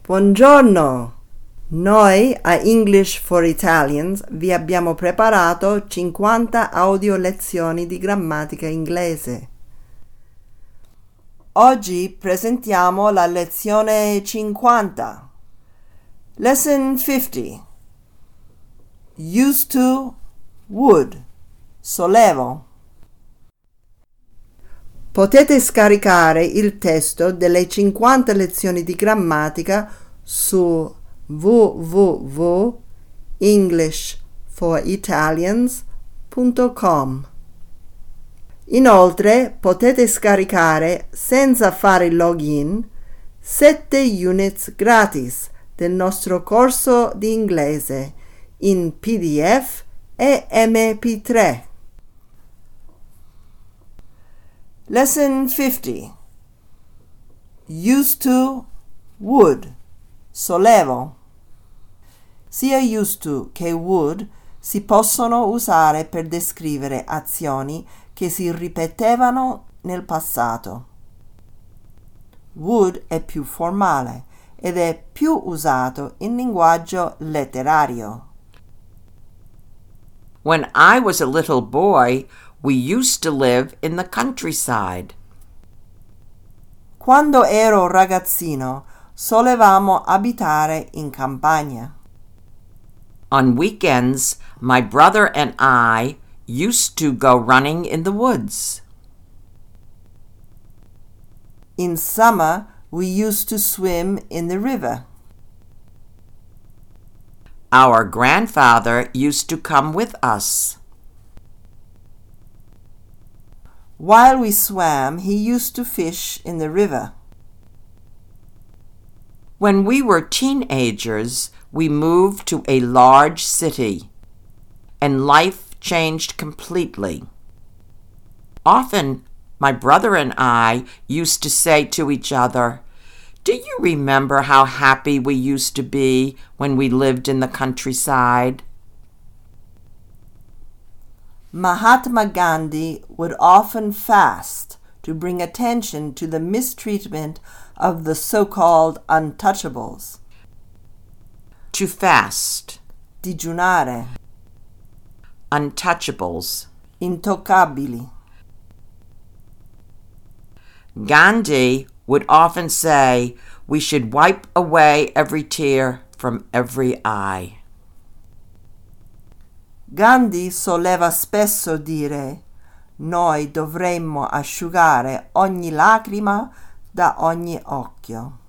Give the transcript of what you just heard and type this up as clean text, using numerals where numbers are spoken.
Buongiorno! Noi a English for Italians vi abbiamo preparato 50 audio lezioni di grammatica inglese. Oggi presentiamo la lezione 50. Lesson 50. Used to, would, solevo. Potete scaricare il testo delle 50 lezioni di grammatica su www.englishforitalians.com. Inoltre potete scaricare senza fare il login 7 units gratis del nostro corso di inglese in PDF e MP3. Lesson 50. Used to, would, solevo. Sia used to che would si possono usare per descrivere azioni che si ripetevano nel passato. Would è più formale ed è più usato in linguaggio letterario. When I was a little boy, we used to live in the countryside. Quando ero ragazzino, solevamo abitare in campagna. On weekends, my brother and I used to go running in the woods. In summer, we used to swim in the river. Our grandfather used to come with us. While we swam, he used to fish in the river. When we were teenagers, we moved to a large city, and life changed completely. Often, my brother and I used to say to each other, "Do you remember how happy we used to be when we lived in the countryside?" Mahatma Gandhi would often fast to bring attention to the mistreatment of the so-called untouchables. To fast. Digiunare. Untouchables. Intoccabili. Gandhi would often say we should wipe away every tear from every eye. Gandhi soleva spesso dire: noi dovremmo asciugare ogni lacrima da ogni occhio.